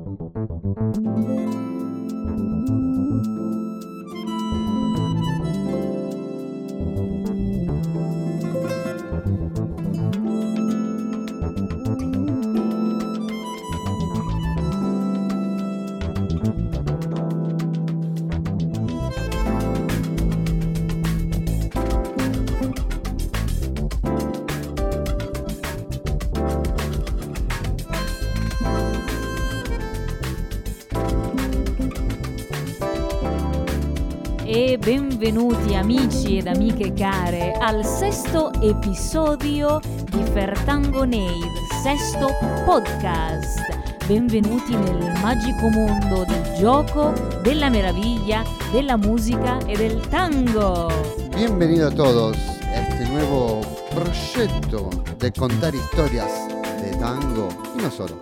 E benvenuti amici ed amiche care al sesto episodio di Fertangonade, sesto podcast. Benvenuti nel magico mondo del gioco, della meraviglia, della musica e del tango. Bienvenidos a todos a este nuevo proyecto de contar historias de tango y no solo.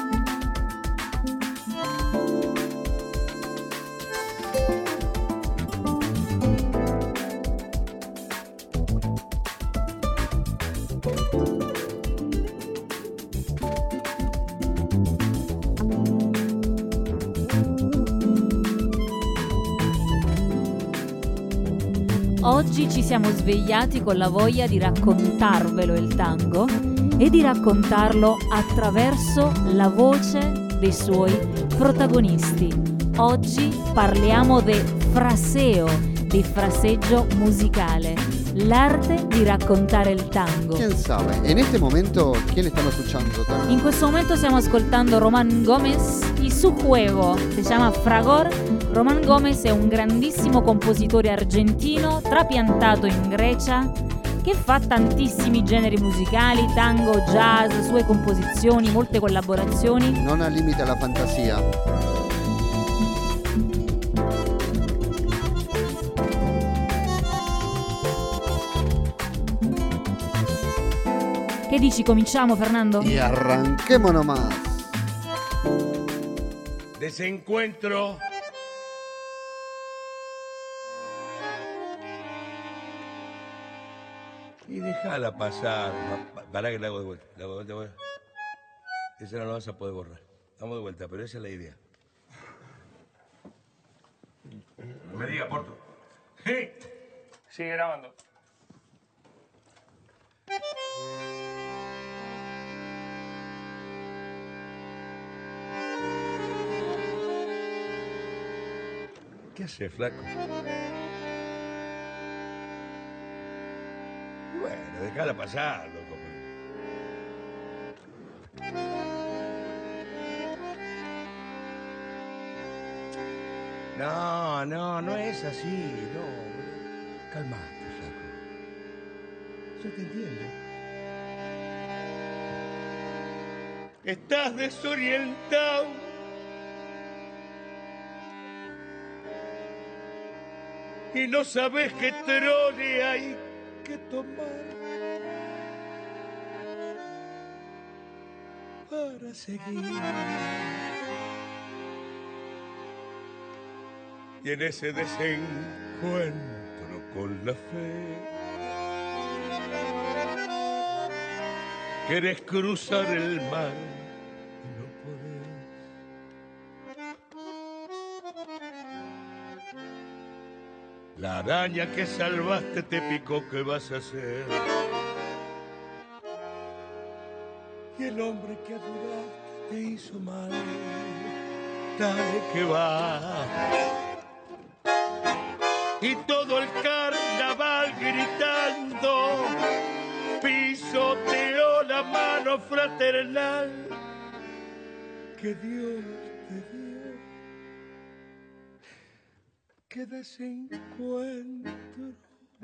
Oggi ci siamo svegliati con la voglia di raccontarvelo il tango e di raccontarlo attraverso la voce dei suoi protagonisti. Oggi parliamo del fraseo, di fraseggio musicale, l'arte di raccontare il tango. ¿Quién sabe? En este momento, ¿quién estamos escuchando? In questo momento stiamo ascoltando Román Gómez y su juego, si chiama Fragor. Román Gómez è un grandissimo compositore argentino, trapiantato in Grecia, che fa tantissimi generi musicali, tango, jazz, sue composizioni, molte collaborazioni. Non ha limite alla fantasia. Che dici, cominciamo, Fernando? Y arranquemos nomás. Desencuentro. Y déjala pasar. Pará que la hago de vuelta. La hago de vuelta. Esa no la vas a poder borrar. Vamos de vuelta, pero esa es la idea. No me diga, Porto. ¡Sí! Sigue grabando. ¿Qué hace, flaco? Bueno, déjala pasar, loco. No es así, no. Calmate, flaco. Yo te entiendo. Estás desorientado. Y no sabes qué trole hay que tomar para seguir. Y en ese desencuentro con la fe querés cruzar el mar y no podés. La araña que salvaste te picó, ¿qué vas a hacer? Y el hombre que adoraste te hizo mal, dale que va. Y todo el carnaval gritando pisoteó la mano fraternal que Dios te dio. ¡Qué desencuentro!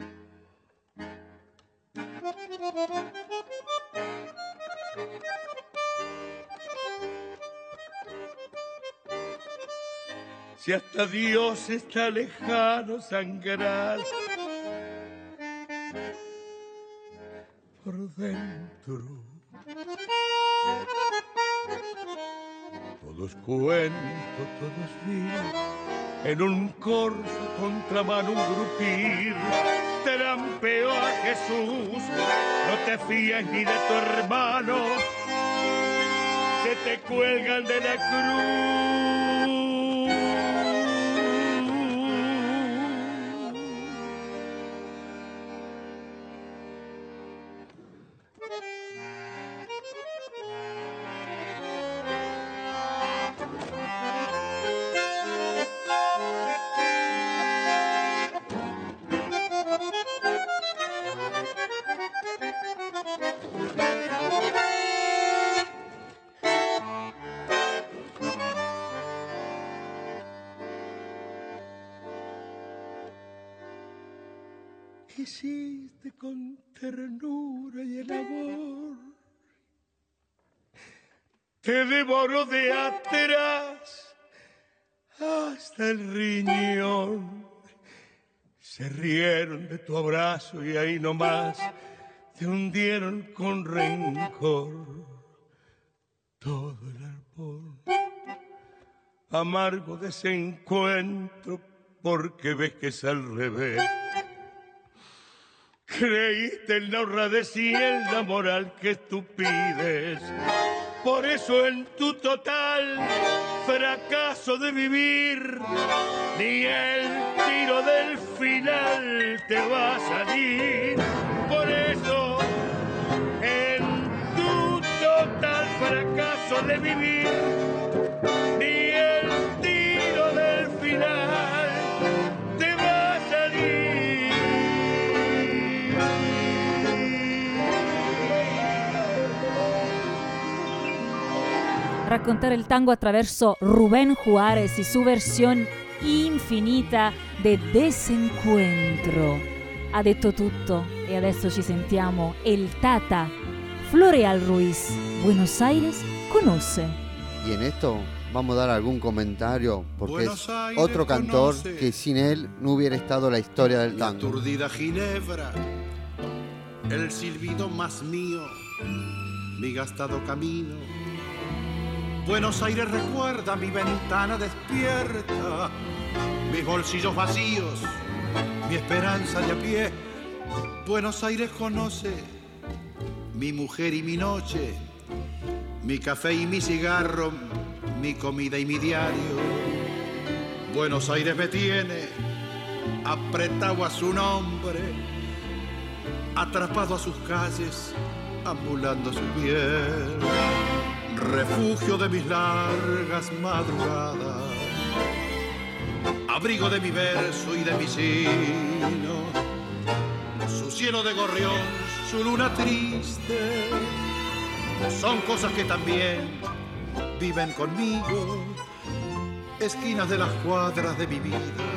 Si hasta Dios está lejano, sangrar por dentro. Todo es cuento, todo es vida. En un corso contramano un grupir trampeó a Jesús. No te fíes ni de tu hermano. Se te cuelgan de la cruz. Quisiste con ternura y el amor, te devoró de atrás hasta el riñón. Se rieron de tu abrazo y ahí nomás te hundieron con rencor todo el árbol. Amargo desencuentro porque ves que es al revés. Creíste en la honradez y en la moral que tú pides. Por eso en tu total fracaso de vivir, ni el tiro del final te va a salir. Por eso en tu total fracaso de vivir, ni el tiro del final te va a salir. Raccontare il tango attraverso Rubén Juárez y su versione infinita de Desencuentro. Ha detto tutto e adesso ci sentiamo El Tata, Floreal Ruiz, Buenos Aires conoce. Y en esto vamos a dar algún comentario porque Buenos es Aires otro cantor conoce. que sin él no hubiera estado la historia del Mi tango. aturdida Ginebra, el silbido más mío, mi gastado camino. Buenos Aires recuerda mi ventana despierta, mis bolsillos vacíos, mi esperanza de a pie. Buenos Aires conoce mi mujer y mi noche, mi café y mi cigarro, mi comida y mi diario. Buenos Aires me tiene apretado a su nombre, atrapado a sus calles, ambulando su piel. Refugio de mis largas madrugadas, abrigo de mi verso y de mi sino, su cielo de gorrión, su luna triste, son cosas que también viven conmigo, esquinas de las cuadras de mi vida,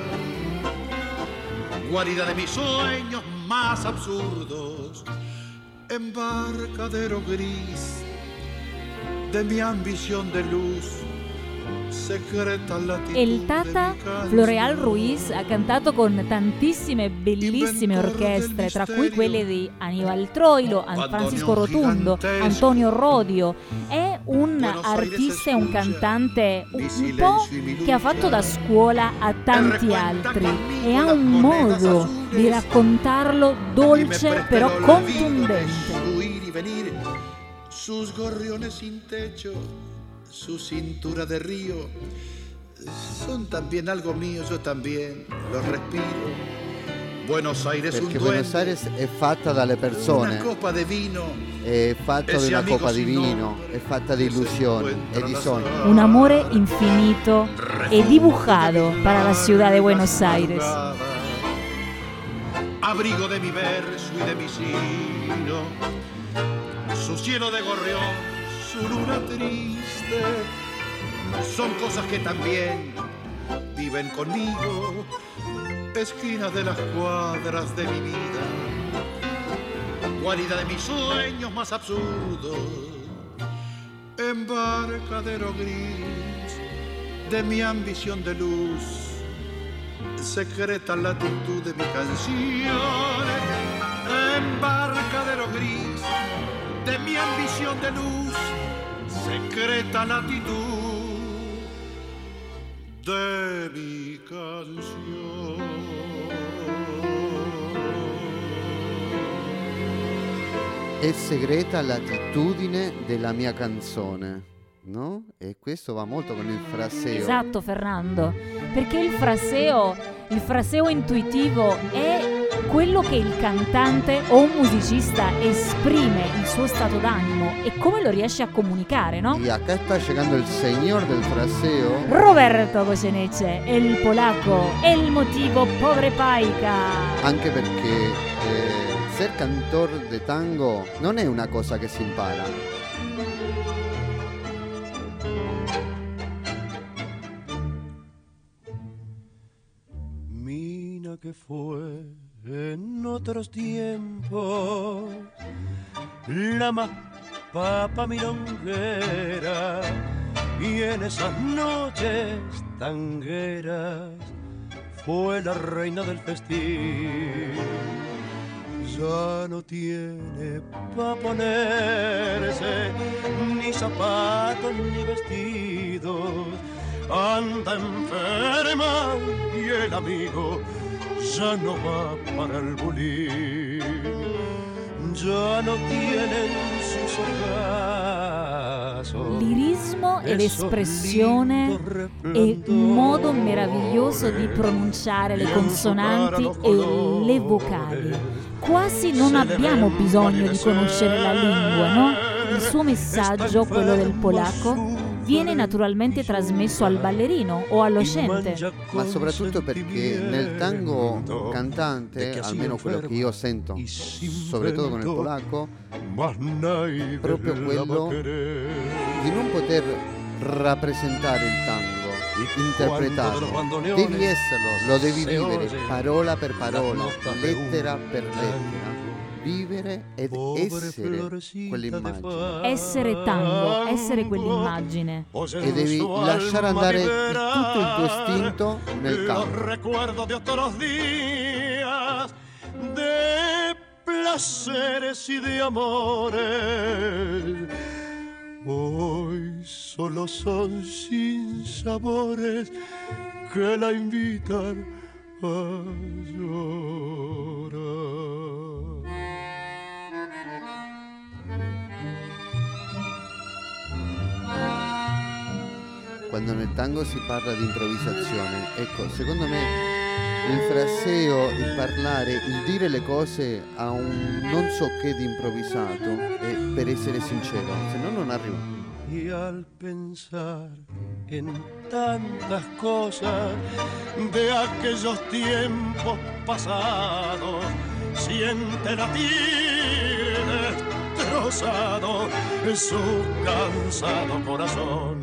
guarida de mis sueños más absurdos, embarcadero gris de mi ambición de luz, secreta latitud. El Tata Floreal Ruiz ha cantato con tantissime bellissime orchestre, tra cui quelle di Aníbal Troilo, Francisco Rotundo, Antonio Rodio. È un artista e un cantante un po' che ha fatto da scuola a tanti altri e ha un modo di raccontarlo dolce però contundente. Sus gorriones sin techo, su cintura de río, son también algo mío, yo también los respiro. Buenos Aires Perché un Buenos duende, Aires è fatta dalle persone, una copa de vino, è fatta di ese una amigo coppa di sin vino, nombre, è fatta di illusioni e di sogni. Un amore infinito e dibujado para la ciudad de Buenos Aires. Abrigo de mi verso y de mi sino, su cielo de gorrión, su luna triste, son cosas que también viven conmigo, esquinas de las cuadras de mi vida, guarida de mis sueños más absurdos, embarcadero gris de mi ambición de luz, secreta latitud de mi canción, embarcadero gris de mi ambición de luz, secreta latitud de mi canción. È segreta l'attitudine della mia canzone. no? E questo va molto con il fraseo. Esatto, Fernando, perché il fraseo intuitivo è quello che il cantante o un musicista esprime il suo stato d'animo e come lo riesce a comunicare, no? Y acá está llegando el señor del fraseo. Roberto Goyeneche, el polaco, el motivo Pobre Paica. Anche perché ser cantor de tango non è una cosa che si impara. Mina que fue en otros tiempos la más papa milonguera y en esas noches tangueras fue la reina del festín. Ya no tiene pa' ponerse ni zapatos ni vestidos, anda enferma y el amigo ya no va para el bulín, ya no tienen sus ocasos. Lirismo ed espressione e un modo meraviglioso di pronunciare le consonanti e le vocali. Quasi non abbiamo bisogno di conoscere la lingua, no? Il suo messaggio, quello del polacco, viene naturalmente trasmesso al ballerino o all'ocente. Ma soprattutto perché nel tango cantante, almeno quello che io sento, soprattutto con il polacco, proprio quello di non poter rappresentare il tango, interpretarlo, devi esserlo, lo devi vivere parola per parola, lettera per lettera, vivere ed essere quell'immagine. Essere tango, essere quell'immagine. E devi lasciare andare tutto il tuo istinto nel canto. Recuerdo de otros días, de placeres y de amores. Hoy solo son sinsabores que la invitan a llorar. Quando nel tango si parla di improvvisazione, ecco, secondo me il fraseo, il parlare, il dire le cose a un non so che di improvvisato è per essere sincero, se no non arriva. Y al pensar en tantas cosas de aquellos tiempos pasados, siente latir destrozado su cansado corazón.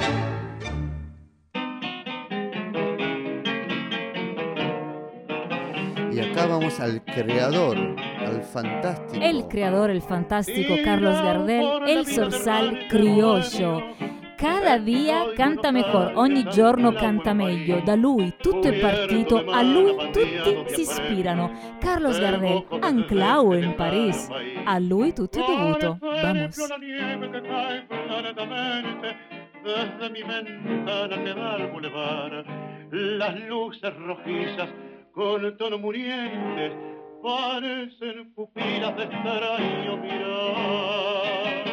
Y acá vamos al creador, al fantástico. El creador, el fantástico Carlos Gardel, el zorzal criollo. Cada día canta mejor, ogni giorno canta meglio. Da lui tutto è partito, a lui tutti si ispirano. Carlos Gardel, anclao en París. A lui tutto è dovuto. Vamos. Desde mi ventana que da al bulevar, las luces rojizas con tono muriente parecen pupilas de extraño mirar.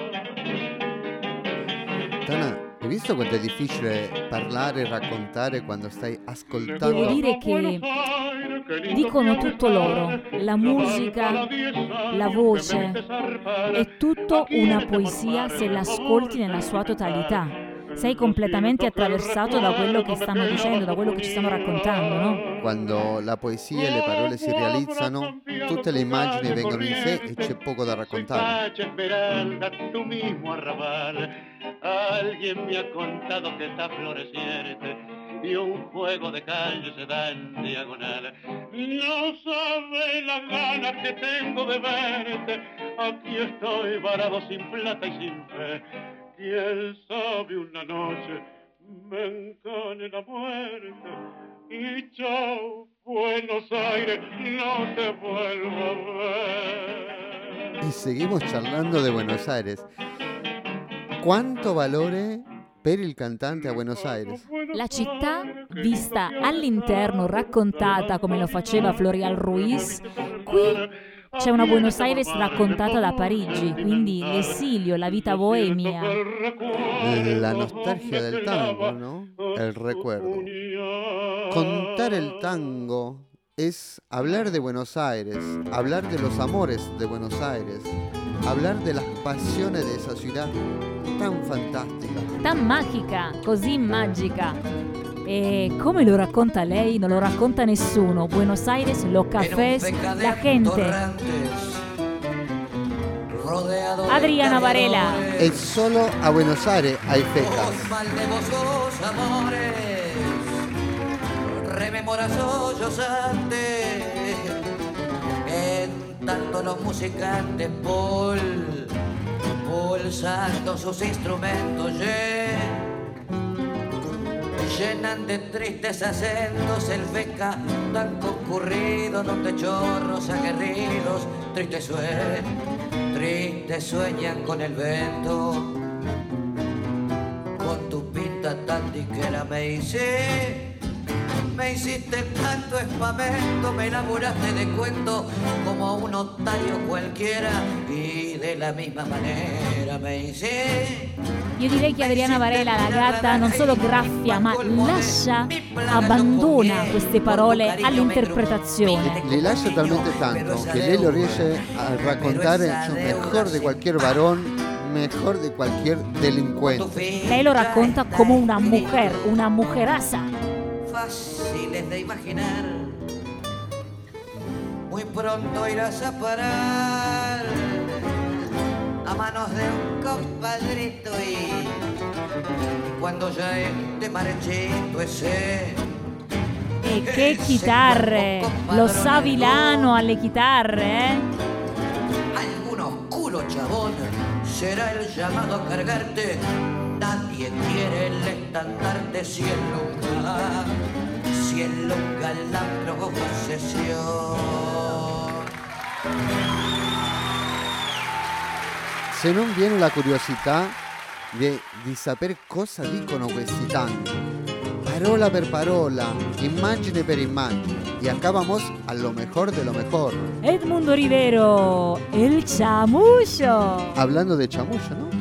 Tana, hai visto quanto è difficile parlare e raccontare quando stai ascoltando? Devo dire che dicono tutto loro, la musica, la voce, è tutto una poesia se l'ascolti nella sua totalità. Sei completamente attraversato da quello che stanno dicendo, da quello che ci stanno raccontando, no? Quando la poesia e le parole si realizzano, tutte le immagini vengono in sé e c'è poco da raccontare. Tu mismo arrabal, alguien me ha contado que está floreciente y un juego de calle se da en diagonal. No sabe las ganas que tengo de verte, aquí estoy varado sin plata y sin fe. Quién sabe una noche me encane la muerte y chao Buenos Aires, no te vuelvo a ver. Y seguimos charlando de Buenos Aires. Quanto valore per il cantante a Buenos Aires? La città vista all'interno, raccontata come lo faceva Florial Ruiz, qui C'è una Buenos Aires raccontata da Parigi, quindi l'esilio, la vita bohemia. La nostalgia del tango, ¿no? El recuerdo. Contar el tango es hablar de Buenos Aires, hablar de los amores de Buenos Aires, hablar de las pasiones de esa ciudad tan fantástica. Tan magica, così magica. E come lo racconta lei, non lo racconta nessuno. Buenos Aires, los cafés, la gente. Adriana Varela. Es solo a Buenos Aires hay fecas. Rememora sollozante, en tanto los musicantes pulsando sus instrumentos llenan de tristes acentos el feca tan concurrido donde chorros aguerridos tristes sueñan con el vento. Con tu pinta tan diquera me hiciste tanto espamento, me enamoraste de cuento como a un otario cualquiera y de la misma manera me hice. Io direi che Adriana Varela, la gatta, non solo graffia, ma lascia, abbandona queste parole all'interpretazione. Le lascia talmente tanto que lei lo riesce a raccontare mejor de cualquier varón, mejor de cualquier delincuente. Lei lo racconta come una mujeraza. Fáciles de imaginar, muy pronto irás a parar a manos de un compadrito y cuando ya esté marchito ese. E che chitarre! Lo sa Vilano alle chitarre, Algún oscuro chabón será el llamado a cargarte. Nadie quiere el estandarte si él nunca la posesión. Se non viene la curiosità di sapere cosa dicono questi tanti, parola per parola, immagine per immagine, y acá vamos a lo mejor de lo mejor. Edmundo Rivero, el chamullo. Hablando de chamullo, ¿no?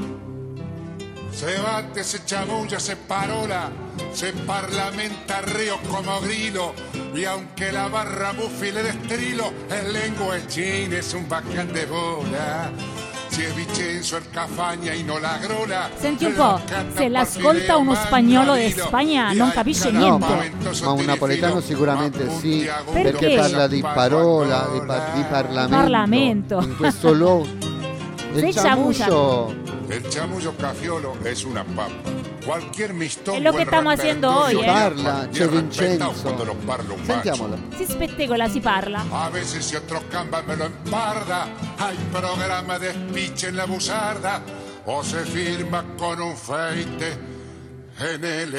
Se bate, se chamulla, se parola, se parlamenta río como grilo, y aunque la barra Buffy le destrilo, el lengua es china, es un bacán de bola. Si è Vincenzo il Cafagna in la grola. Senti un po', se l'ascolta uno spagnolo di Spagna non capisce niente. Ma un napoletano sicuramente sì, perché parla di parola, di Parlamento. In questo luogo. Il chamullo cafiolo es una papa. Cualquier mistón. È lo che stiamo facendo oggi, Parla, c'è Vincenzo. Sentiamolo. Si spettegola, si parla. A veces si otro camba me lo emparda. Hay programa de speech en la busarda. O se firma con un feite en el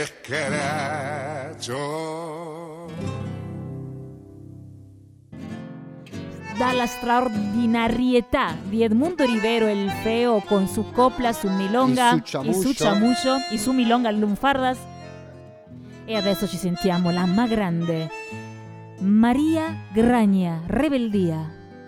escracho. Dalla straordinarietà di Edmundo Rivero el Feo con su copla, su milonga e su chamullo e su milonga lunfardas. E adesso ci sentiamo la más grande, María Graña, Rebeldía.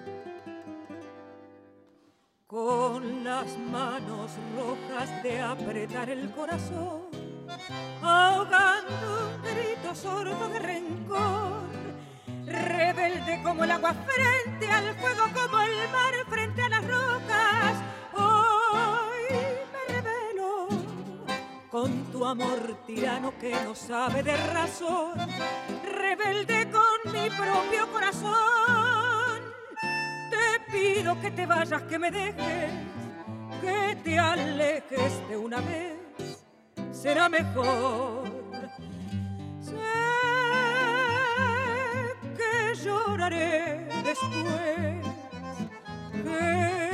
Con las manos rojas de apretar el corazón, ahogando un grito sordo de rencor. Rebelde como el agua frente al fuego, como el mar frente a las rocas. Hoy me revelo con tu amor tirano que no sabe de razón. Rebelde con mi propio corazón. Te pido que te vayas, que me dejes, que te alejes de una vez. Será mejor. Lloraré después, que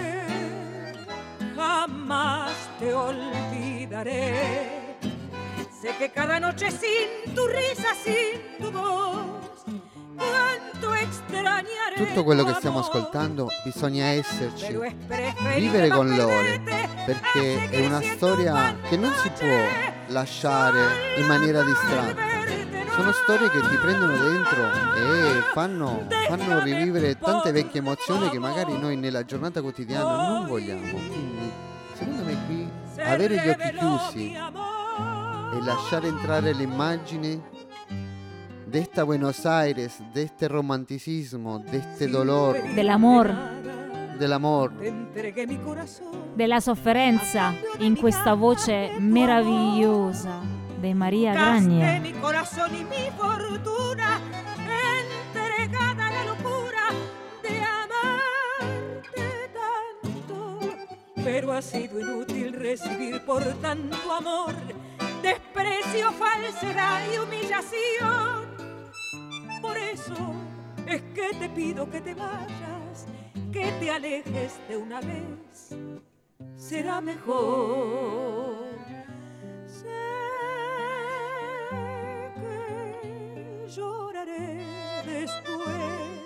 jamás te olvidaré. Sé que cada noche sin tu risa, sin tu voz, quanto extrañaré. Tutto quello che stiamo ascoltando bisogna esserci, vivere con Lore, perché è una storia che non si può lasciare in maniera distratta. Sono storie che ti prendono dentro e fanno rivivere tante vecchie emozioni che magari noi nella giornata quotidiana non vogliamo. Quindi, secondo me qui, avere gli occhi chiusi e lasciare entrare le immagini de esta Buenos Aires, de este romanticismo, de este dolor, dell'amor, della sofferenza, in questa voce meravigliosa di Maria Graglia. Mi corazón y mi fortuna entregada a la locura de amarte tanto, pero ha sido inútil recibir por tanto amor desprecio, falsedad y humillación. Por eso es que te pido que te vayas, que te alejes de una vez, será mejor. Sé que lloraré después,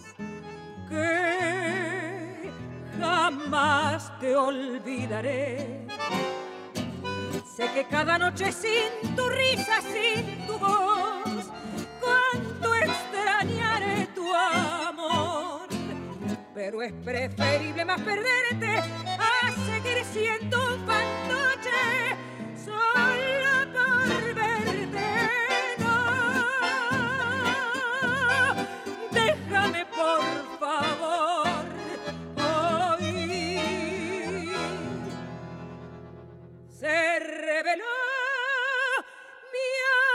que jamás te olvidaré. Sé que cada noche sin tu risa, sin tu voz, cuánto extrañaré tu amor. Pero es preferible más perderte a seguir siendo un fantoche solo por verte. No, déjame por favor hoy. Se reveló mi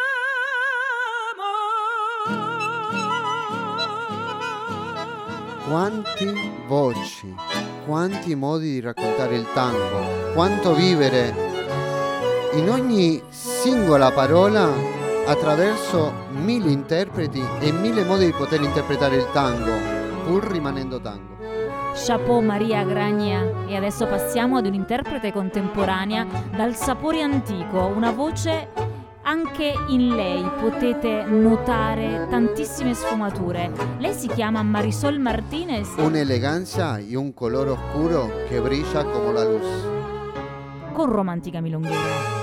amor. Quanti voci, quanti modi di raccontare il tango, quanto vivere in ogni singola parola attraverso 1000 interpreti e 1000 modi di poter interpretare il tango, pur rimanendo tango. Chapeau Maria Graglia. E adesso passiamo ad un'interprete contemporanea dal sapore antico, una voce anche in lei potete notare tantissime sfumature. Lei si chiama Marisol Martínez. Un'eleganza e un colore oscuro che brilla come la luz. Con Romantica Milonguera.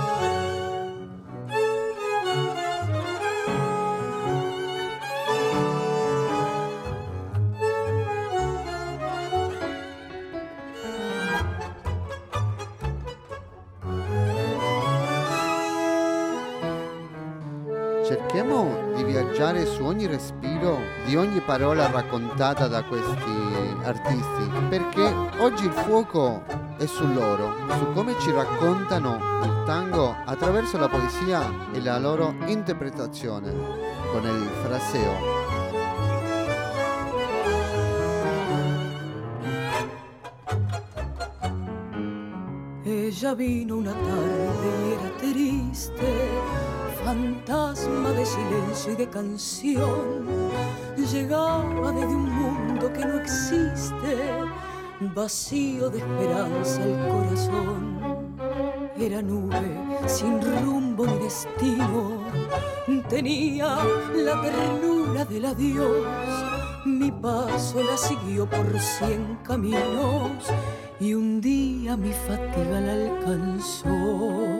Cerchiamo di viaggiare su ogni respiro di ogni parola raccontata da questi artisti, perché oggi il fuoco è su loro, su come ci raccontano il tango attraverso la poesia e la loro interpretazione con il fraseo. Ella vino una tarde y era triste, fantasma de silencio y de canción. Llegaba desde un mundo que no existe, vacío de esperanza el corazón. Era nube sin rumbo ni destino, tenía la ternura del adiós. Mi paso la siguió por 100 caminos y un día mi fatiga la alcanzó.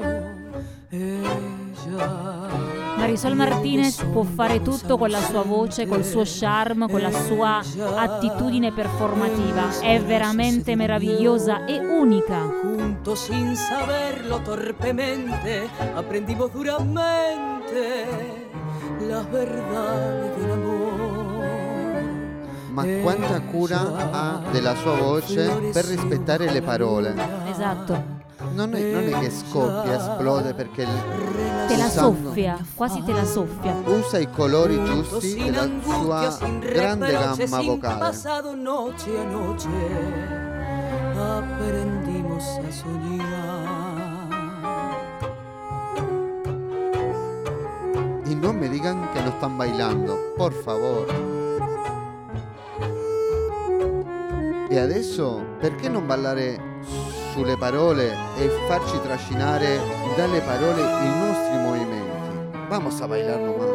Marisol Martínez può fare tutto con la sua voce, col suo charme, con la sua attitudine performativa. È veramente meravigliosa e unica. Juntos sin saberlo torpemente aprendimos duramente las verdades del amor. Ma quanta cura ha della sua voce per rispettare le parole. Esatto. Non è che scoppia, esplode perché te la soffia, quasi te la soffia. Usa i colori giusti della sua grande gamma vocale. Pasado noche a noche aprendimos a soñar. Y no me digan que no están bailando, por favor. E adesso perché non ballare sulle parole e farci trascinare dalle parole i nostri movimenti? Vamos a bailar nomás.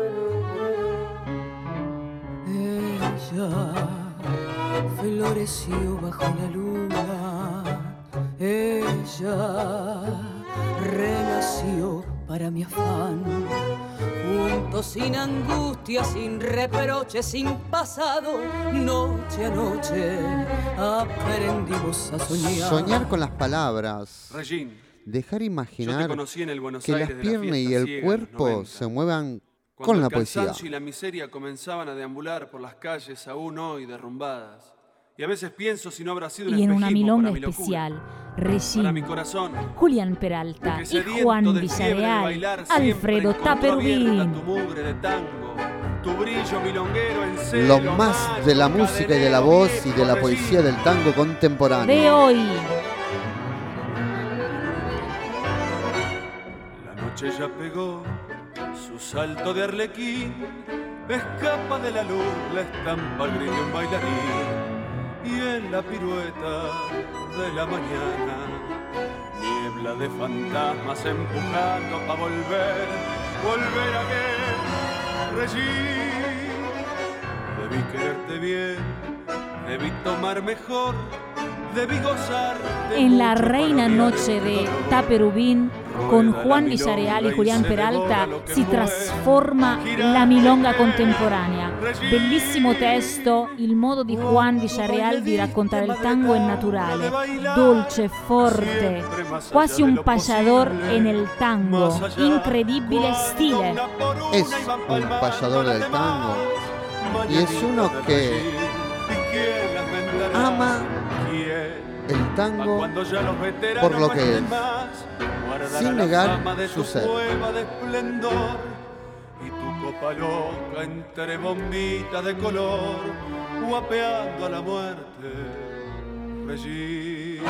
Ella floreció bajo la luna, ella renació para mi afán. Juntos sin angustia, sin reproche, sin pasado, noche a noche aprendimos a soñar. Soñar con las palabras. Regín, dejar imaginar yo te conocí en el Buenos que Aires las de la piernas y fiesta el ciega, cuerpo 90. se muevan Cuando con la el poesía. cansancio y la miseria comenzaban a deambular por las calles aún hoy derrumbadas. Y a veces pienso si no habrá sido un Y en una espejismo milonga para mi locura, especial, para mi Regín, corazón, Julián Peralta que y sediento Juan de fiebre de Villarreal, bailar siempre Alfredo encontró abierta Taperubín. tu mugre de tango, tu brillo milonguero en celo, Lo más de la macho, música y de la voz y de la cadenero, poesía del tango De contemporáneo. hoy. La noche ya pegó su salto de arlequín, escapa de la luz la estampa gris de un bailarín, y en la pirueta de la mañana, niebla de fantasmas empujando pa' volver a ver, Regín. Debí quererte bien, debí tomar mejor, debí gozar de En la mucho reina para noche olvidarte de el dolor. Taperubín, con Rueda Juan la Villarreal y milonga Julián se devora Peralta, lo que si mueve. trasforma la milonga contemporanea. Bellissimo testo, il modo di Juan Villarreal di raccontare il tango è naturale, dolce, forte, quasi un payador en el tango, incredibile stile. Es un payador del tango y es uno que ama el tango por lo que es, sin negar su ser. Y tu copa loca entre bombitas de color, guapeando a la muerte, Regín.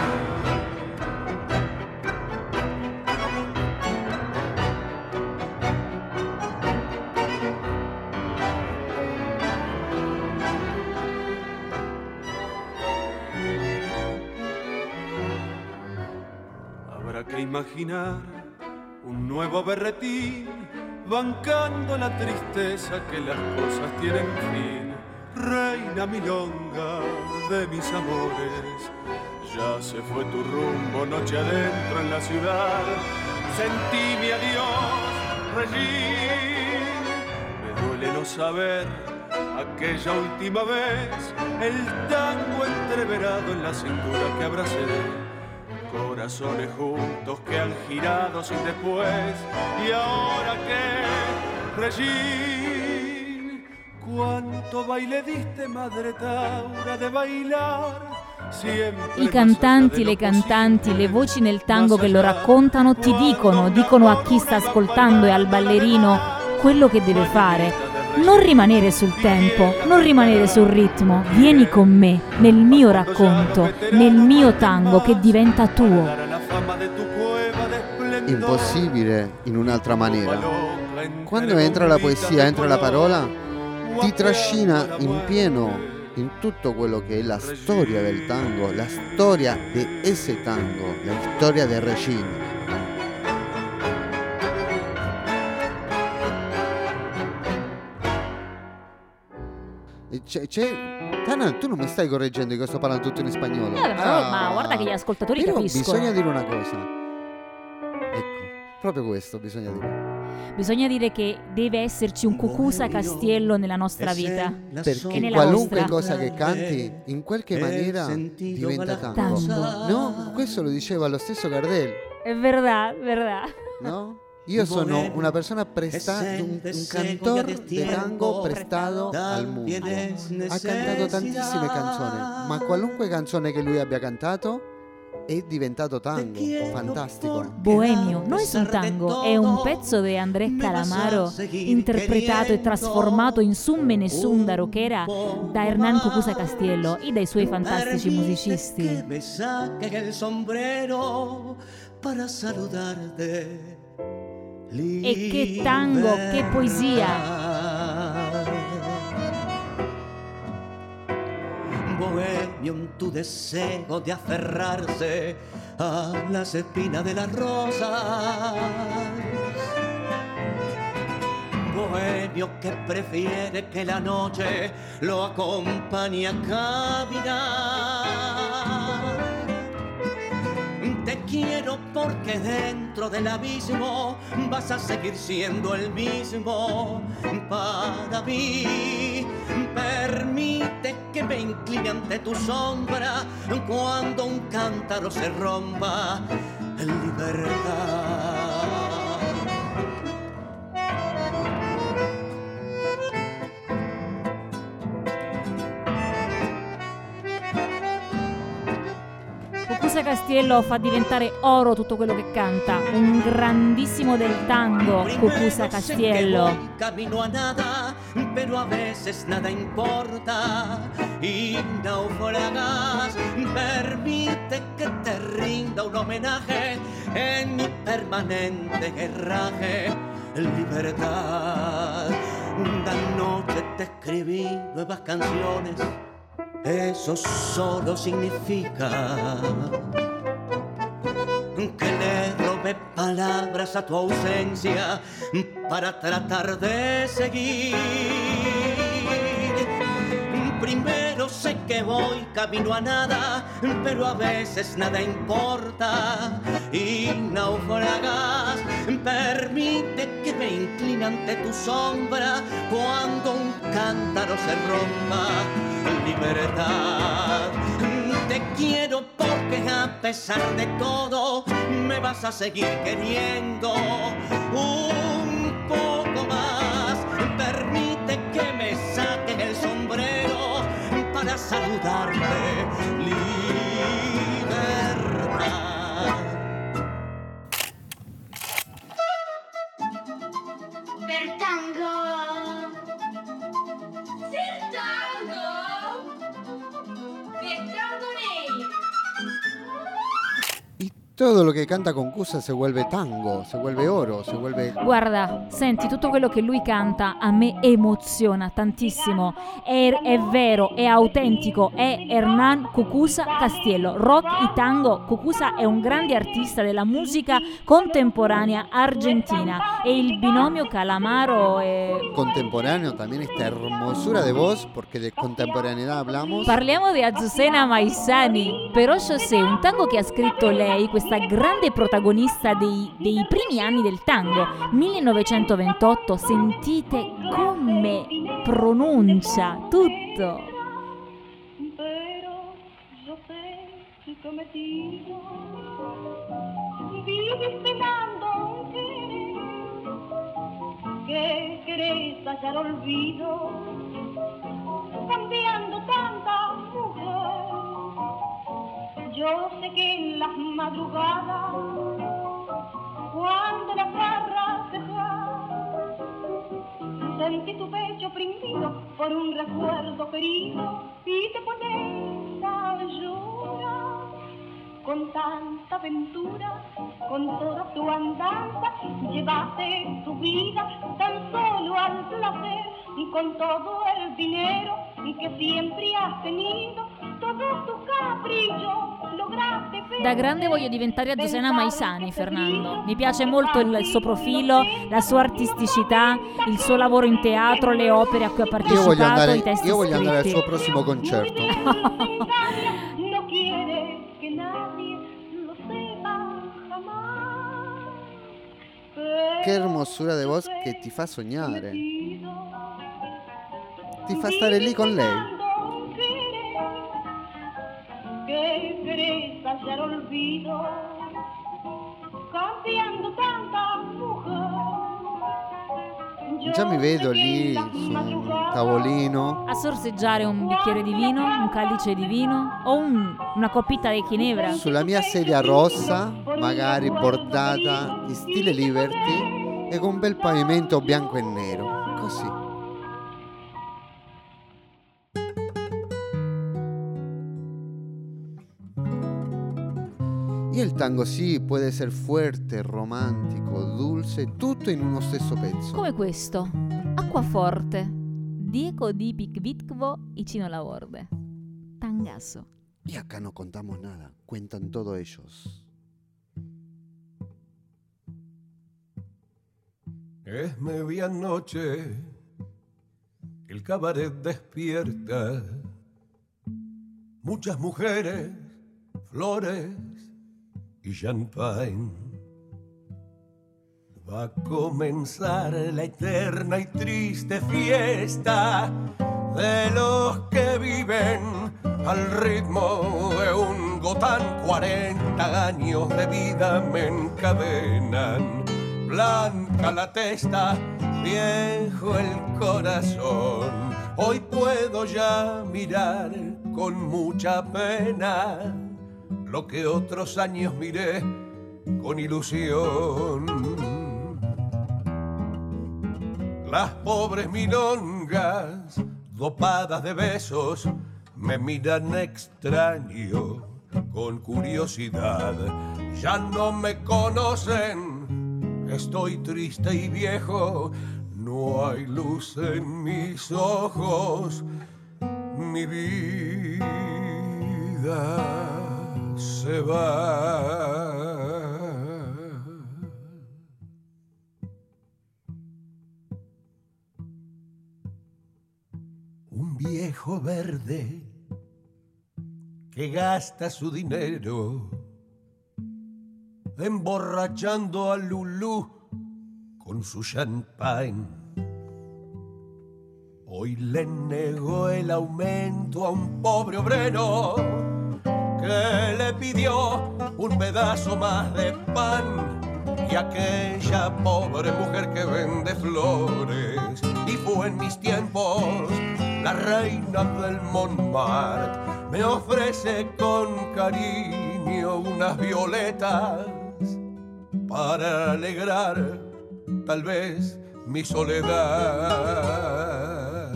Habrá que imaginar un nuevo berretín, bancando la tristeza que las cosas tienen fin. Reina milonga de mis amores, ya se fue tu rumbo noche adentro en la ciudad. Sentí mi adiós, Regín. Me duele no saber aquella última vez, el tango entreverado en la cintura que abracé. Corazones juntos que han girado sin después. Y ahora que, Regín, cuánto baile diste, madre Taura, de bailar sempre. I cantanti, le cantanti, le voci nel tango che lo raccontano ti dicono a chi sta ascoltando e al ballerino quello che deve fare. Non rimanere sul tempo, non rimanere sul ritmo, vieni con me, nel mio racconto, nel mio tango che diventa tuo. Impossibile in un'altra maniera. Quando entra la poesia, entra la parola, ti trascina in pieno in tutto quello che è la storia del tango, la storia de ese tango, la storia de Regín. Tana, tu non mi stai correggendo che sto parlando tutto in spagnolo. Ma guarda che gli ascoltatori però capiscono. bisogna dire una cosa. Ecco, proprio questo bisogna dire. Bisogna dire che deve esserci un Cucuza Castiello nella nostra vita. Perché nella qualunque vostra. cosa che canti, in qualche maniera diventa tango. No? Questo lo diceva lo stesso Gardel, È verdad, verdad. no? Io sono una persona prestata, un cantor de tango prestato al mondo. Ha cantato tantissime canzoni, ma qualunque canzone che lui abbia cantato è diventato tango, fantastico. Bohemio no es un tango, è un pezzo di Andrés Calamaro interpretato e trasformato in Summene Sunda rockera da Hernán Cucuza Castiello e dai suoi fantastici musicisti. Me saquen el sombrero para saludarte. E che tango, che poesia! Bohemio, en tu deseo de aferrarse a las espinas de las rosas. Bohemio que prefiere que la noche lo acompañe a caminar. Te quiero porque dentro del abismo vas a seguir siendo el mismo para mí. Permite que me incline ante tu sombra cuando un cántaro se rompa en libertad. Cucuza Castiello fa diventare oro tutto quello che canta, un grandissimo del tango, Cucuza Castiello. Camino a nada, pero a veces nada importa y naufragas. Permite que te rinda un homenaje en mi permanente guerraje, libertad. Una noche te escribí nuevas canciones. Eso solo significa que le robé palabras a tu ausencia para tratar de seguir. Primero sé que voy camino a nada, pero a veces nada importa y naufragas. Permite que me incline ante tu sombra cuando un cántaro se rompa. Libertad, te quiero porque a pesar de todo me vas a seguir queriendo un poco más. Permite que me saquen el sombrero para saludarte. Libertad. Per tango. Todo lo che canta Cucuza se vuelve tango, se vuelve oro, se vuelve... Guarda, senti, tutto quello che lui canta a me emoziona tantissimo. È vero, è autentico, è Hernán Cucuza Castiello. Rock y tango. Cucuza è un grande artista della musica contemporanea argentina. E il binomio Calamaro è... Contemporáneo también esta hermosura de voz, porque de contemporaneidad hablamos. Parliamo di Azucena Maizani. Però io sé, un tango che ha scritto lei, questa grande protagonista dei primi anni del tango, 1928, sentite come pronuncia tutto. Pero yo sé tu cometido, vives penando un querer, que querés hallar olvido, cambiando tanta mujer. Yo sé que en las madrugadas, cuando las barras dejan, sentí tu pecho oprimido por un recuerdo querido y te pones a llorar con tanta aventura, con toda tu andanza, llevaste tu vida tan solo al placer y con todo el dinero que siempre has tenido. Da grande voglio diventare Azucena Maizani, Fernando. Mi piace molto il suo profilo, la sua artisticità, il suo lavoro in teatro, le opere a cui ha partecipato, i testi io voglio scritti. andare al suo prossimo concerto. Che hermosura de voz che ti fa sognare. Ti fa stare lì con lei. Que querés hallar olvido, cambiando tanta mujer. Già mi vedo lì su un tavolino a sorseggiare un bicchiere di vino, un calice di vino o una coppita di ginebra. Sulla mia sedia rossa, magari bordata in stile Liberty e con un bel pavimento bianco e nero. Così. Y el tango sì, può essere fuerte, romantico, dulce, tutto in uno stesso pezzo. Come questo, Acquaforte, Diego di Picvitvo y Chino Laborde. Tangazo. Y acá no contamos nada, cuentan todo ellos. Es medianoche, el cabaret despierta, muchas mujeres, flores, y champagne. Va a comenzar la eterna y triste fiesta de los que viven al ritmo de un gotán. 40 años de vida me encadenan. Blanca la testa, viejo el corazón. Hoy puedo ya mirar con mucha pena lo que otros años miré con ilusión. Las pobres milongas, dopadas de besos, me miran extraño, con curiosidad. Ya no me conocen, estoy triste y viejo, no hay luz en mis ojos, mi vida se va. Un viejo verde que gasta su dinero emborrachando a Lulú con su champagne. Hoy le negó el aumento a un pobre obrero que le pidió un pedazo más de pan, y aquella pobre mujer que vende flores y fue en mis tiempos la reina del Montmartre me ofrece con cariño unas violetas para alegrar tal vez mi soledad.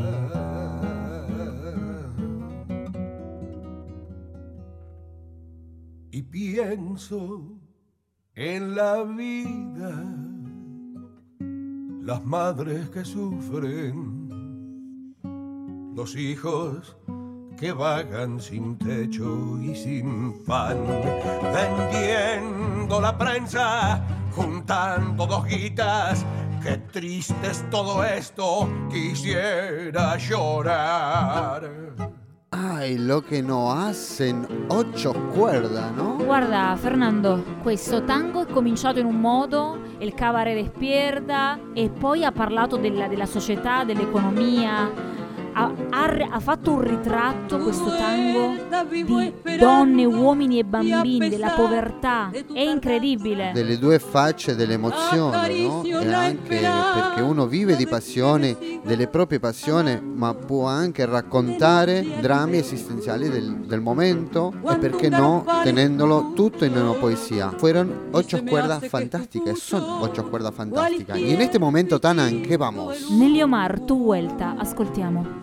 Y pienso en la vida, las madres que sufren, los hijos que vagan sin techo y sin pan, vendiendo la prensa, juntando 2 guitas. Qué triste es todo esto, quisiera llorar. Ai, lo che no hacen 8 cuerda, no? Guarda Fernando, questo tango è cominciato in un modo, il cabaret despierta, e poi ha parlato della società, dell'economia. Ha fatto un ritratto, questo tango, di donne, uomini e bambini, della povertà. È incredibile. Delle 2 facce dell'emozione, no? E anche perché uno vive di passione, delle proprie passioni, ma può anche raccontare drammi esistenziali del momento, e perché no, tenendolo tutto in una poesia. Fueron 8 cuerdas fantásticas, son 8 cuerdas fantásticas. Y en este momento, Tana, ¿en qué vamos? Nelly Omar, Tu Vuelta, ascoltiamo.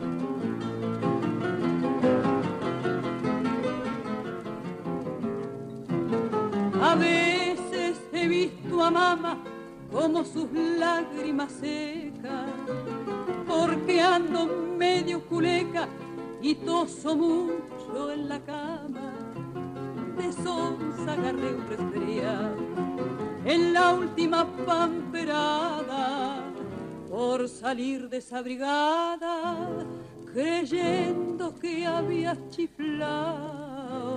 A veces he visto a mamá como sus lágrimas secas, porque ando medio culeca y toso mucho en la cama. De sonza agarré un resfriado en la última pamperada, por salir desabrigada, creyendo que había chiflado.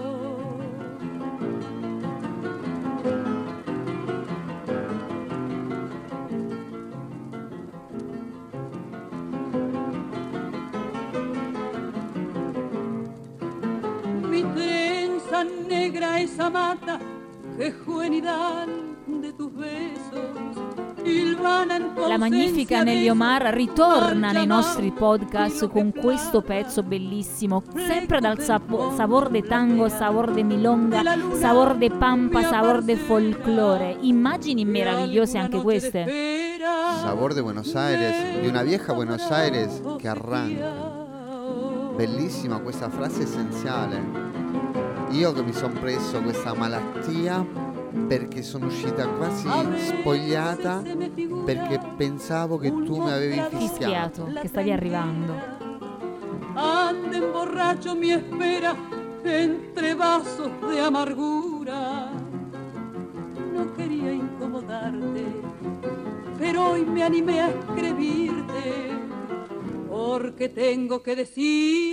Mi trenza negra esa mata, che juvenidad de tus besos. La magnifica Nelly Omar ritorna nei nostri podcast con questo pezzo bellissimo, sempre dal sabor de tango, sabor de milonga, sabor de pampa, sabor de folklore. Immagini meravigliose anche queste. Sabor de Buenos Aires, di una vieja Buenos Aires che arranca. Bellissima questa frase essenziale. Io che mi sono preso questa malattia perché sono uscita quasi spogliata, perché pensavo che tu mi avevi fischiato, che stavi arrivando. Anden borracho mi espera entre vasos de amargura. No quería incomodarte, pero hoy me animé a escribirte, porque tengo que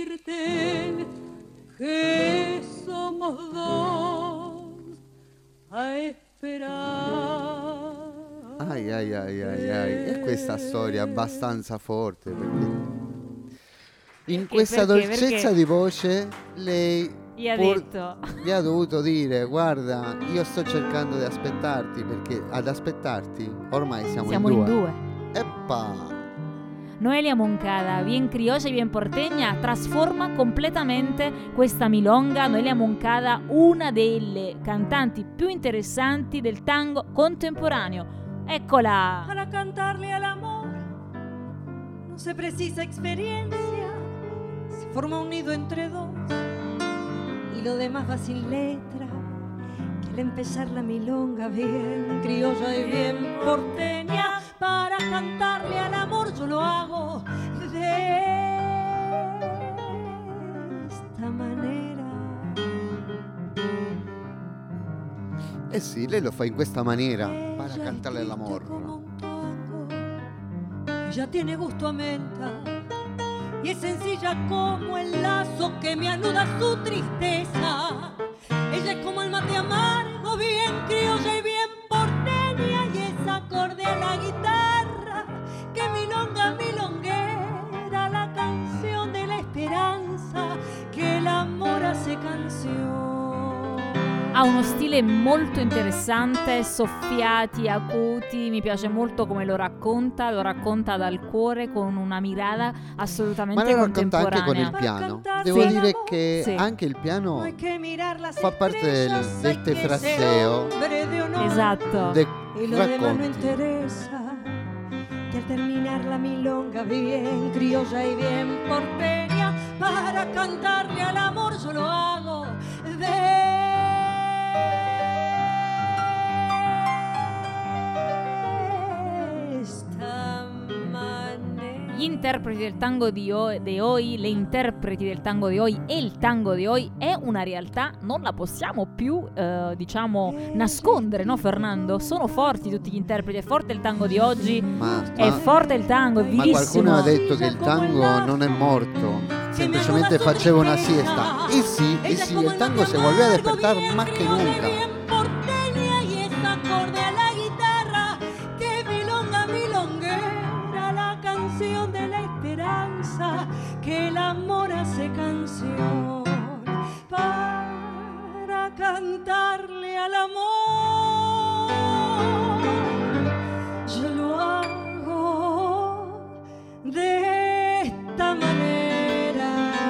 decirte que somos dos a esperar. Ai. E questa storia è abbastanza forte perché in questa dolcezza di voce lei gli ha dovuto dire: guarda, io sto cercando di aspettarti, perché ad aspettarti ormai siamo in due. Eppa. Noelia Moncada, bien criolla y bien porteña, trasforma completamente questa milonga. Noelia Moncada, una delle cantanti più interessanti del tango contemporaneo. Eccola. Para cantarle al amor no se precisa experiencia, se forma un nido entre dos y lo demás va sin letra. Que al empezar la milonga bien criolla y bien porteña, para cantarle al amor yo lo hago de esta manera. Eh sì, lei lo fa in questa maniera, para cantarle all'amor. Ella tiene gusto a menta y es sencilla como el lazo que me anuda su tristeza. Ella es como el mate amargo, bien criolla y bien porteña, y es acorde a la guitarra que milonga milonguera, la canción de la esperanza che l'amore hace canción. Ha uno stile molto interessante, soffiati, acuti, mi piace molto come lo racconta dal cuore, con una mirada assolutamente contemporanea. Ma lo racconta anche con il piano. Devo dire che anche il piano fa parte del fraseo. Esatto. Y lo demás no interesa, que al terminar la milonga bien criolla y bien porteña, para cantarle al amor yo lo hago de esta manera. Gli interpreti del tango di hoy, le interpreti del tango di hoy e il tango di hoy è una realtà, non la possiamo più nascondere, no Fernando? Sono forti tutti gli interpreti, è forte il tango di oggi, è forte il tango, è vivissimo. Ma qualcuno ha detto che il tango non è morto, semplicemente faceva una siesta. Y sí, el tango se volvió a despertar más que nunca. De la esperanza, que el amor hace canción, para cantarle al amor yo lo hago de esta manera.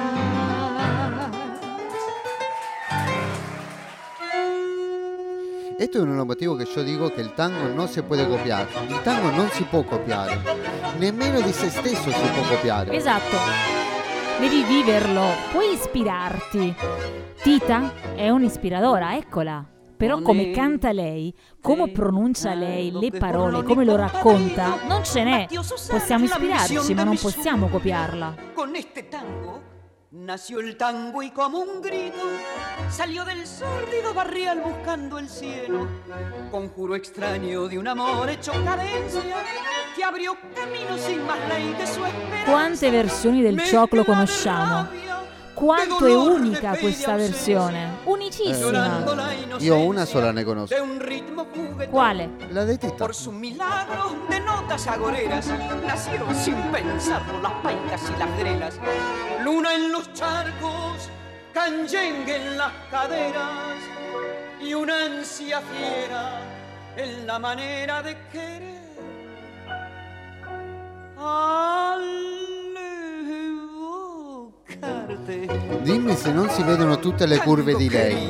Esto es uno de los motivos que yo digo que el tango no se puede copiar. Il tango non si può copiare, nemmeno di se stesso si può copiare. Esatto, devi viverlo, puoi ispirarti. Tita è un'ispiradora, eccola. Però come canta lei, come pronuncia lei le parole, come lo racconta, non ce n'è. Possiamo ispirarci, ma non possiamo copiarla. Con este tango nació el tango y como un grito salió del sórdido barrial buscando el cielo, conjuro extraño de un amor hecho cadencia che abrió camino sin más ley de su esperanza. Quante versioni del cioclo conosciamo? Quanto è unica questa versione? Unicissima. Io una sola ne conosco. Quale? La de Tita. Por su milagro de notas agoreras nacieron sin pensarlo las paicas y las grelas. Luna en los charcos, canyengue en las caderas y una ansia fiera en la manera de querer. Dimmi se non si vedono tutte le curve di lei.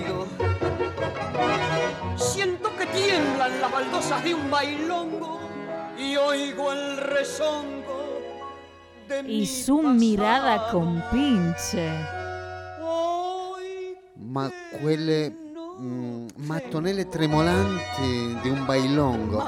Siento que tiemblan las baldosas de un bailongo y oigo el rezongo de mi Y su mirada compinche. Ma quelle mattonelle tremolanti di un bailongo.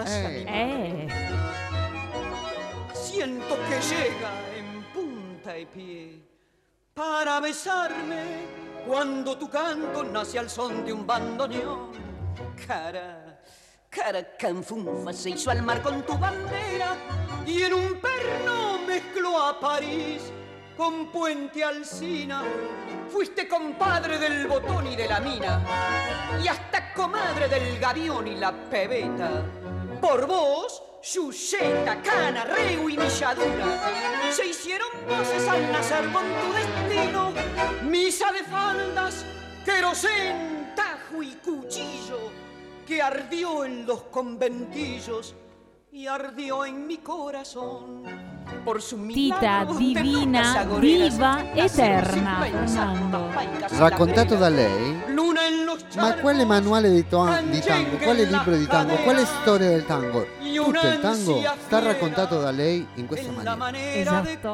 Siento que llega en punta y pie para besarme cuando tu canto nace al son de un bandoneón. Cara canfunfa se hizo al mar con tu bandera y en un perno mezcló a París con Puente Alsina, fuiste compadre del Botón y de la Mina, y hasta comadre del Gavión y la Pebeta. Por vos, Yuceta, Cana, Reu y Milladura se hicieron voces al nacer con tu destino. Misa de faldas, querosén, tajo y cuchillo, que ardió en los conventillos y ardió en mi corazón. Por su Tita, divina, diva, eterna, Fernando. Raccontato da lei? Ma quale manuale di tango, quale libro di tango, quale storia del tango? Tutto il tango sta raccontato da lei in questa maniera. Esatto.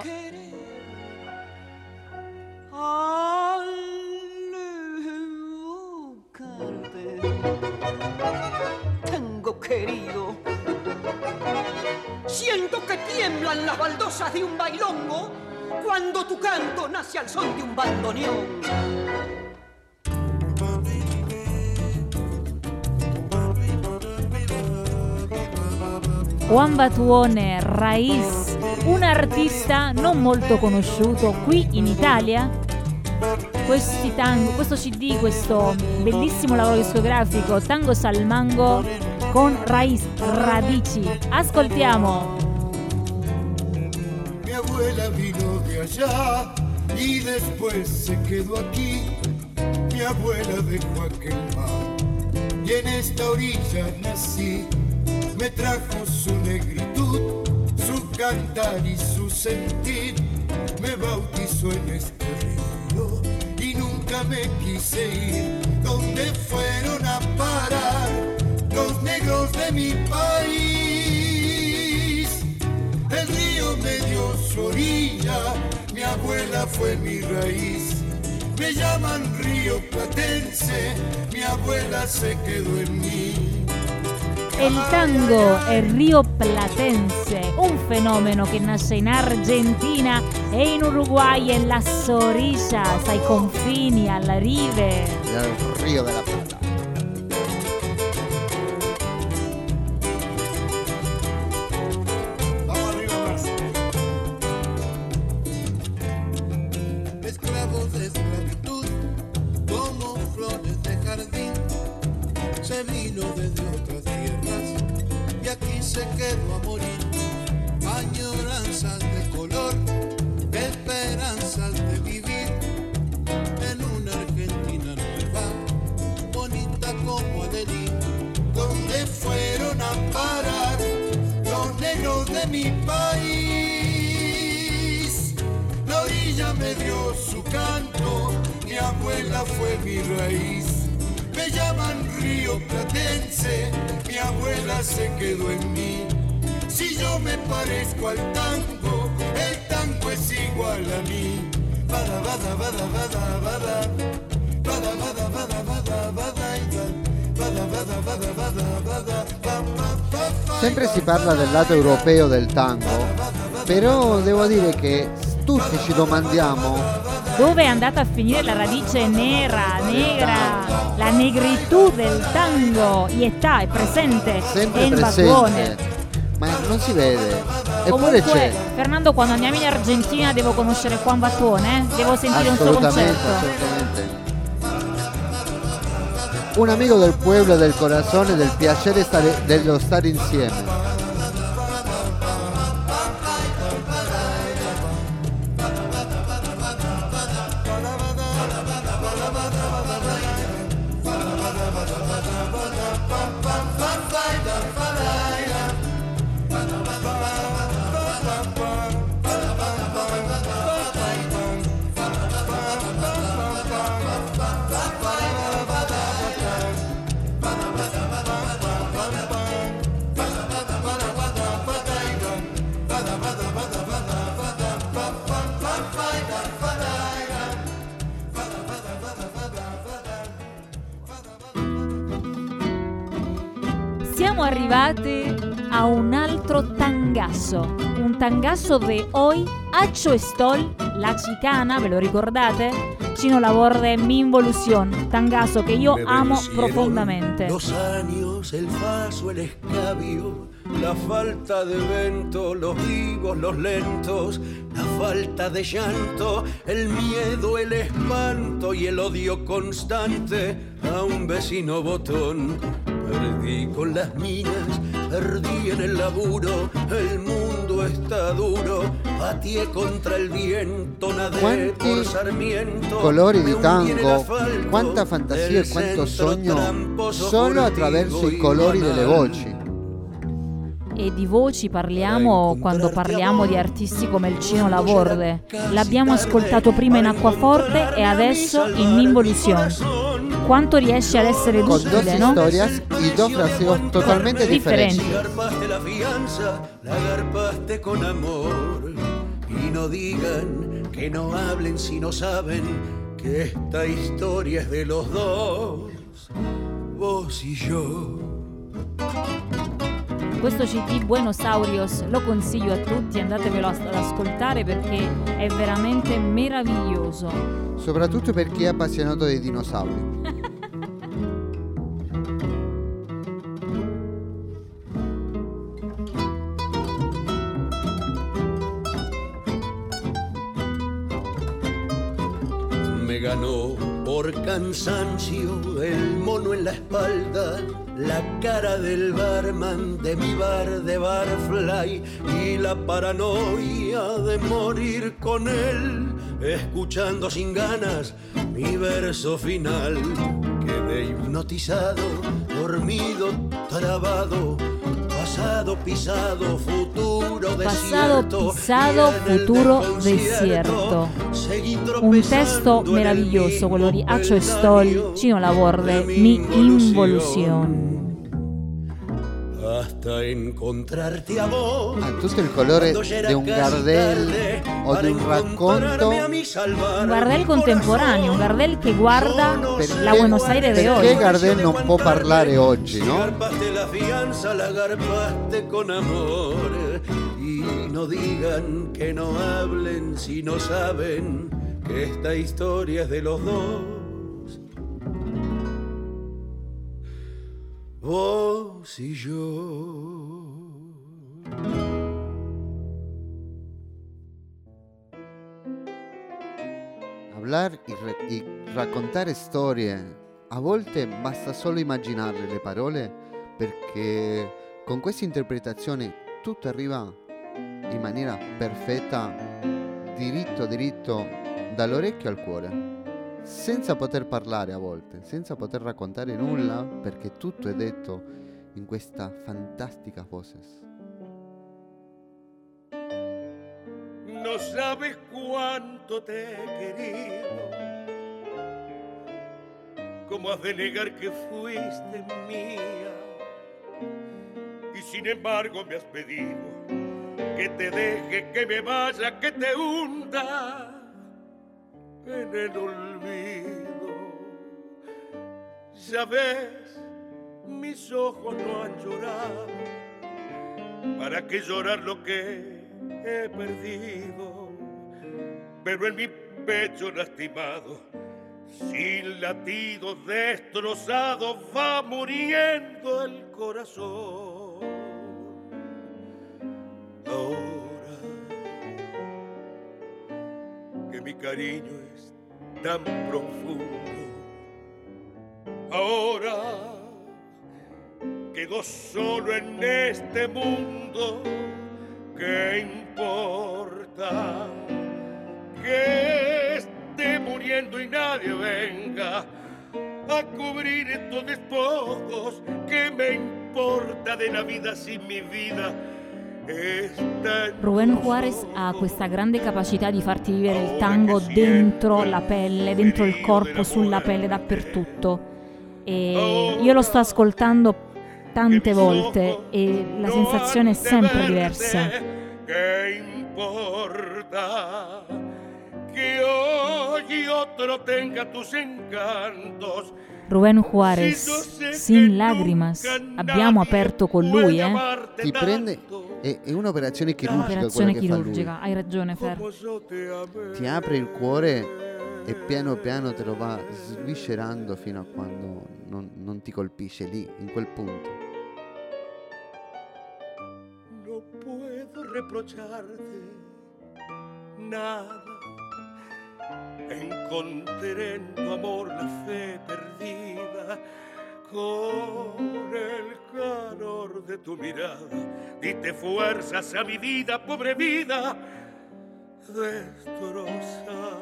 Tango querido, siento que tiemblan las baldosas de un bailongo cuando tu canto nace al son de un bandoneón. Juan Batuone, Raiz, un artista non molto conosciuto qui in Italia. Questi tango, questo CD, questo bellissimo lavoro discografico, Tango Salmango con Raiz, Radici. Ascoltiamo. Mi abuela vino de allá y después se quedó aquí. Mi abuela dejó aquel mar y en esta orilla nací. Me trajo su negritud, su cantar y su sentir. Me bautizó en este río y nunca me quise ir. ¿Dónde fueron a parar los negros de mi país? El río me dio su orilla, mi abuela fue mi raíz. Me llaman río platense, mi abuela se quedó en mí. El tango è Rio Platense, un fenomeno che nasce in Argentina e in Uruguay, en las orillas, ai confini, alla rive del Rio della Plata. Esclavos de esclavitud, como flores de jardín, se vino desde otras tierras y aquí se quedó a morir. Añoranzas de color, esperanzas de vivir en una Argentina nueva, bonita como Adelín. ¿Dónde fueron a parar los negros de mi país? La orilla me dio su canto, mi abuela fue mi raíz. Me llaman río platense, mi abuela se quedó en mí. Si yo me parezco al tango, el tango es igual a mí. Bada, bada, bada, bada, bada. Bada, bada, bada, bada, bada, bada, bada, bada, bada, bada. Sempre si parla del lato europeo del tango, però devo dire che tutti ci domandiamo dove è andata a finire la radice negra, la negritù del tango. Y está, è presente, sempre è in presente, Batuone. ma non si vede. Comunque, Eppure c'è. Fernando, quando andiamo in Argentina devo conoscere Juan Batuone, devo sentire un suo concerto. Assolutamente. Un amico del pueblo, del corazón, del piacere dello stare insieme. Siamo arrivati a un altro tangazo, un tangazo de hoy, Acho Stoll, La Chicana, ¿ve lo ricordate? Chino Laborde, Mi Involución, tangazo que yo amo profondamente. Los años, el paso, el escabio la falta de vento, los vivos, los lentos, la falta de llanto, el miedo, el espanto y el odio constante a un vecino botón. Perdí con las minas, perdí en el laburo, el mundo está duro, batié contra el viento, nadé por Sarmiento. Colori di tango, quanta fantasia e quanto sogno solo attraverso i colori delle voci. E di voci parliamo quando parliamo di artisti come il Cino Laborde. L'abbiamo ascoltato prima in Acquaforte e adesso in Involución. Quanto riesce ad essere duttile, no? Con dos historias y dos fraseos totalmente differenti. La garpaste con amor y no digan que no hablen si no saben que esta historia es de los dos, vos y yo. Questo CD Buenos Aurios lo consiglio a tutti, andatevelo ad ascoltare perché è veramente meraviglioso. Soprattutto per chi è appassionato dei dinosauri. Me ganó por cansancio el mono en la espalda, la cara del barman de mi bar de Barfly y la paranoia de morir con él, escuchando sin ganas mi verso final. Quedé hipnotizado, dormido, trabado, pasado, pisado, futuro desierto. Pasado, pisado, futuro desierto. Un testo meraviglioso, quello di Acho Stoll, Cino Laborde, Mi Involución. Hasta encontrarte a vos. Ha tutto il colore di un Gardel o di un racconto. Un Gardel contemporaneo, un Gardel che guarda la Buenos Aires di oggi. Perché Gardel non può parlare oggi, no? La fianza la garpaste con amor y no digan que no hablen si no saben que esta historia es de los dos, vos y yo. Hablar y raccontare storie, a volte basta solo immaginarle le parole, perché con questa interpretazione tutto arriva in maniera perfetta, diritto dall'orecchio al cuore, senza poter parlare a volte, senza poter raccontare nulla, perché tutto è detto in questa fantastica voces. No sabes cuánto te he querido, cómo has de negar que fuiste mía, y sin embargo me has pedido que te deje, que me vaya, que te hunda en el olvido. Ya ves, mis ojos no han llorado, ¿para qué llorar lo que he perdido? Pero en mi pecho lastimado, sin latidos destrozados, va muriendo el corazón. Ahora que mi cariño es tan profundo, ahora quedo solo en este mundo, ¿qué importa que esté muriendo y nadie venga a cubrir estos despojos? ¿Qué me importa de la vida si mi vida está en Rubén Juárez ha questa grande capacità di farti vivere il tango dentro la pelle, dentro il corpo, sulla pelle, dappertutto. E io lo sto ascoltando tante volte e la sensazione è sempre diversa. ¿Qué importa que hoy otro tenga tus encantos? Rubén Juárez, Sin Lágrimas, abbiamo aperto con lui, Ti prende, è un'operazione chirurgica. Un'operazione quella che chirurgica, fa lui. hai ragione Fer. Ti apre il cuore e piano piano te lo va sviscerando fino a quando non ti colpisce lì, in quel punto. reprocharte nada. Encontré en tu amor la fe perdida, con el calor de tu mirada diste fuerzas a mi vida, pobre vida destrozada.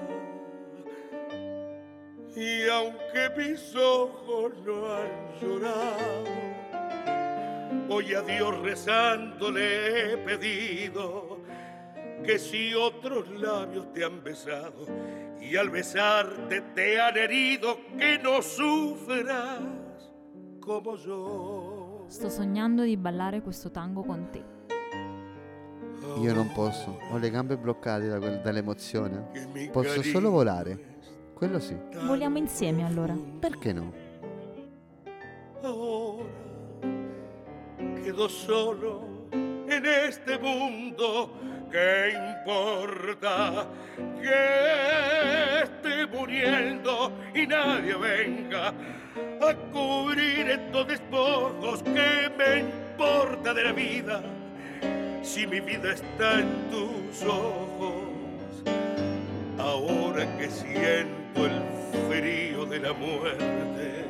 Y aunque mis ojos no han llorado, hoy a Dios rezando le he pedido que si otros labios te han besado y al besarte te han herido, che non sufras come io. Sto sognando di ballare questo tango con te. Io non posso, ho le gambe bloccate dall'emozione. Posso solo volare, quello sì. Voliamo insieme allora. Perché no? Ahora quedo solo en este mundo. ¿Qué importa que esté muriendo y nadie venga a cubrir estos despojos? ¿Qué me importa de la vida si mi vida está en tus ojos? Ahora que siento el frío de la muerte,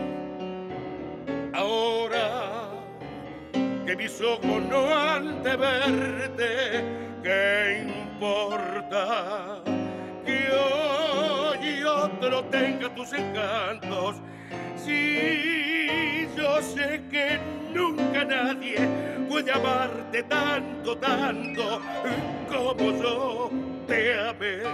ahora que mis ojos no han de verte, ¿qué importa que hoy otro tenga tus encantos? Si yo sé que nunca nadie puede amarte tanto, tanto como yo te amé.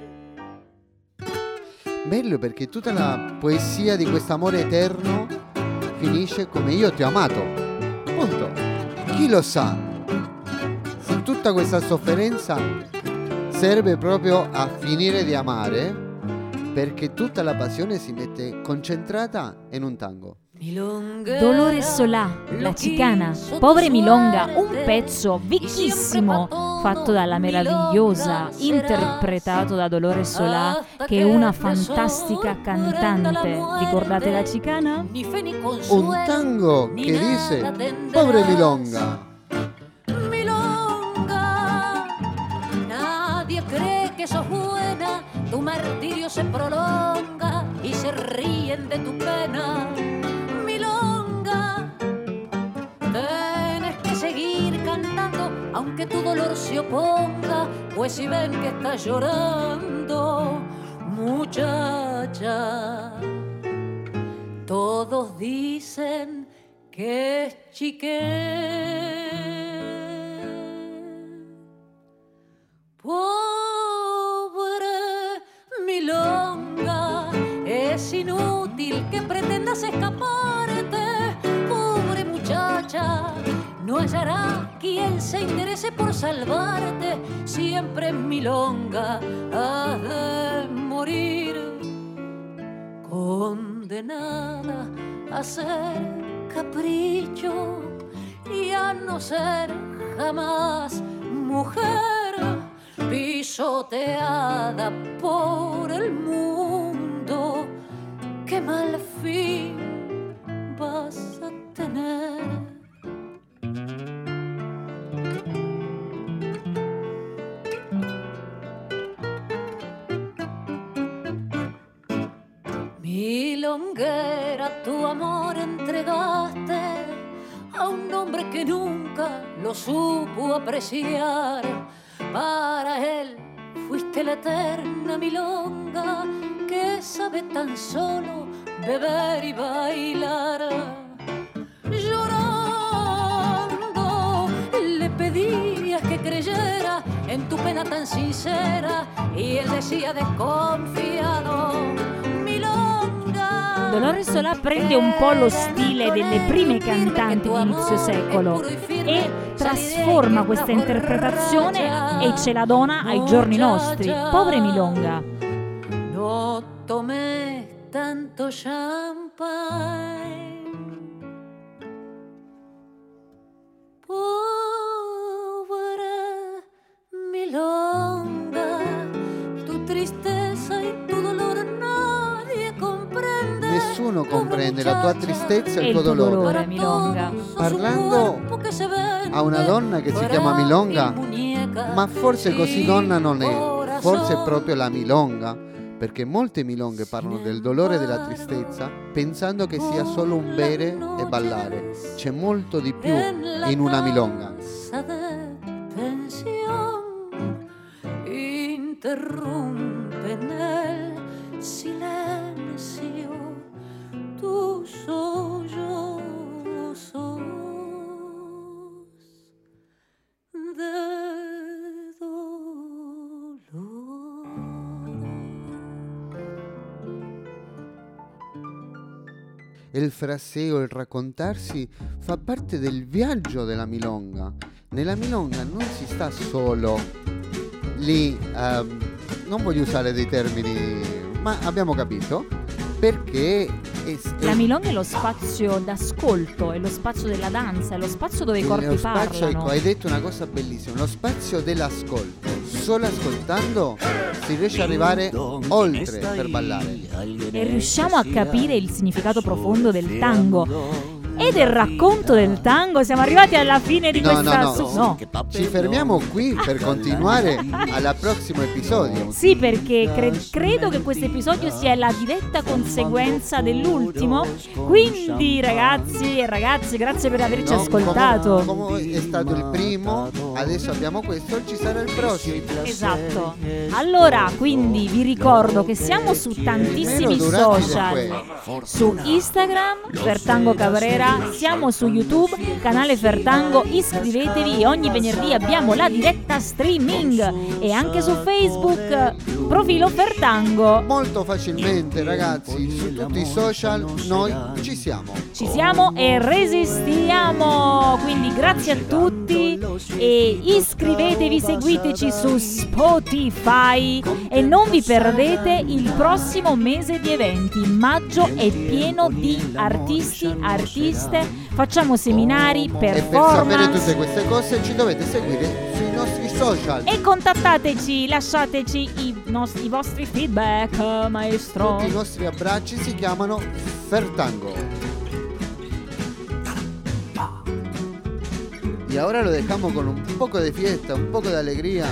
Bello perché tutta la poesia di quest'amore eterno finisce come io ti ho amato. Punto. Chi lo sa? Se tutta questa sofferenza serve proprio a finire di amare, perché tutta la passione si mette concentrata in un tango. Dolores Solà, La Chicana, Pobre Milonga, un pezzo vecchissimo fatto dalla meravigliosa, interpretato da Dolores Solà, che è una fantastica cantante. Ricordate La Chicana? Un tango che dice Pobre Milonga. Milonga, nadie cree que sos buena, tu martirio se prolonga y se ríen de tu pena. Tienes que seguir cantando aunque tu dolor se oponga, pues si ven que estás llorando, muchacha, todos dicen que es chiqué. Pobre milonga, es inútil que pretendas escaparte. Pobre muchacha, no hallará quien se interese por salvarte. Siempre en milonga has de morir, condenada a ser capricho y a no ser jamás mujer, pisoteada por el mundo. Qué mal fin vas a tener. Milonguera, tu amor entregaste a un hombre que nunca lo supo apreciar. Para él fuiste la eterna milonga que sabe tan solo beber y bailar. Llorando le pedías que creyera en tu pena tan sincera y él decía desconfiado: Milonga. Dolores Solà prende un po' lo stile delle prime cantanti di inizio secolo e trasforma questa interpretazione e ce la dona ai giorni nostri. Pobre Milonga. No tomé tanto champagne, pobre milonga, tu tristeza y tu dolor nadie comprende. nessuno comprende la tua tristezza e il tuo dolore. Milonga. Parlando a una donna che si chiama Milonga, ma forse così donna non è, forse è proprio la milonga, perché molte milonghe parlano del dolore e della tristezza pensando che sia solo un bere e ballare. C'è molto di più in una milonga. Interrumpe nel silenzio tu sollozos de dolor. Il fraseo, il raccontarsi fa parte del viaggio della milonga. Nella milonga non si sta solo lì, non voglio usare dei termini, ma abbiamo capito, perché la milonga è lo spazio d'ascolto, è lo spazio della danza, è lo spazio dove i corpi parlano. Ecco, hai detto una cosa bellissima, lo spazio dell'ascolto. Solo ascoltando si riesce ad arrivare oltre per ballare. E riusciamo a capire il significato profondo del tango. E del racconto del tango siamo arrivati alla fine di questa... No. Ci fermiamo qui per continuare al prossimo episodio. Sì, perché credo che questo episodio sia la diretta conseguenza dell'ultimo. Quindi ragazzi e ragazze, grazie per averci ascoltato. Come è stato il primo, adesso abbiamo questo, ci sarà il prossimo. Esatto. Allora, quindi vi ricordo che siamo su tantissimi social. Su Instagram, Fertango Cabrera. Siamo su YouTube, canale Fertango, iscrivetevi, ogni venerdì abbiamo la diretta streaming e anche su Facebook, profilo Fertango. Molto facilmente ragazzi, su tutti i social noi ci siamo. Ci siamo e resistiamo, quindi grazie a tutti e iscrivetevi, seguiteci su Spotify e non vi perdete il prossimo mese di eventi. Maggio è pieno di artisti, facciamo seminari, performance. E per sapere tutte queste cose ci dovete seguire sui nostri social. E contattateci, lasciateci i vostri feedback, maestro. Tutti i nostri abbracci si chiamano Fertango. Y ahora lo dejamos con un poco de fiesta, un poco de alegría.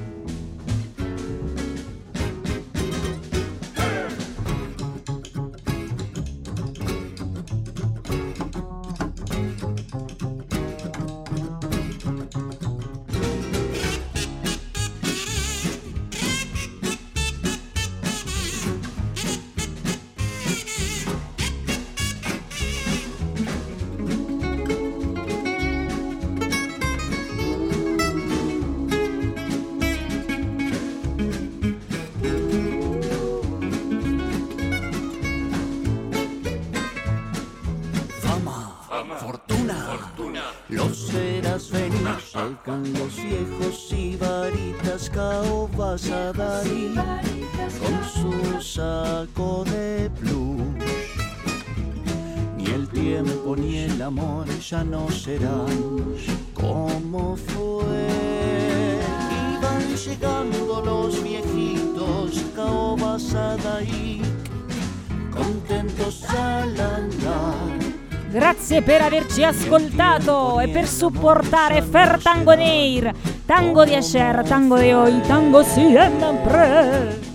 Los viejos sibaritas caobas a Dalí con su saco de plush. Ni el tiempo ni el amor ya no serán como fue. Iban llegando los viejitos caobas a Dalí, contentos al andar. Grazie per averci ascoltato e per supportare Fertango Neir, tango di Asher, tango di Hoy, tango siempre.